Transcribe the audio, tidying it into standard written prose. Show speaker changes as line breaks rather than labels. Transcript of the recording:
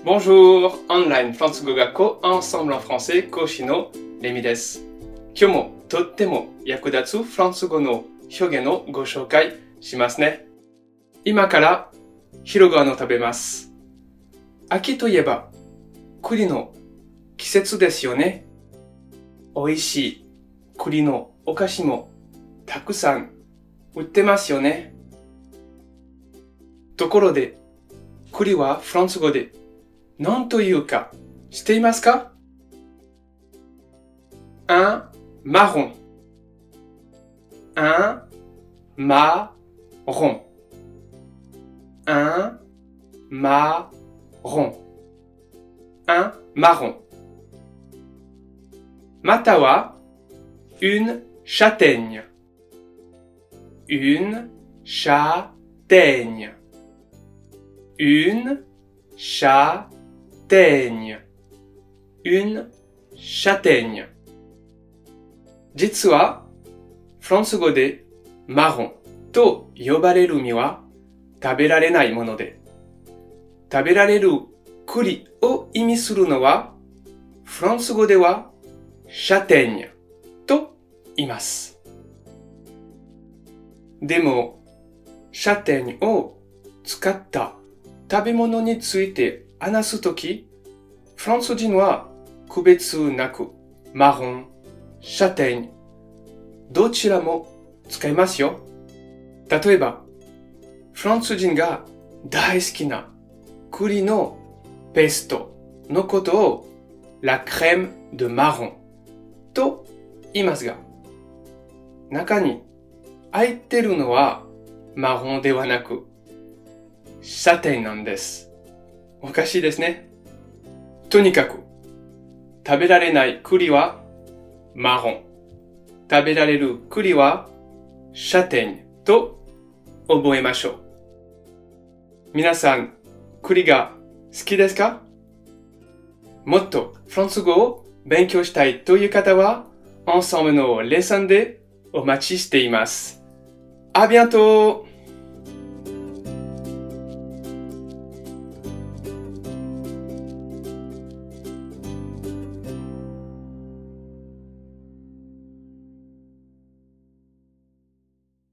Bonjour! オンラインフランス語学校 Ensemble en français 講師のレミです。今日もとっても役立つフランス語の表現をご紹介しますね。今から昼ご飯を食べます。秋といえば栗の季節ですよね。美味しい栗のお菓子もたくさん売ってますよね。ところで、栗はフランス語で何というか知っていますか？ Un marron. Un marron. Un marron. Un marron. または une châtaigne. Une châtaigne. Une châtaigne. Une châtaigne. 実は、フランス語でマロンと呼ばれる実は食べられないもので、食べられる栗を意味するのは、フランス語ではシャテーニャと言います。でも、シャテーニャを使った食べ物について話すとき、フランス人は区別なくマロン、シャテーニャ、どちらも使いますよ。例えば、フランス人が大好きな栗のペーストのことをLa crème de marron と言いますが、中に入ってるのはマロンではなくシャテーニャなんです。おかしいですね。とにかく食べられない栗はマロン、食べられる栗はシャテーニャと覚えましょう。皆さん、栗が好きですか？もっとフランス語を勉強したいという方は、Ensembleのレッスンでお待ちしています。À bientôt!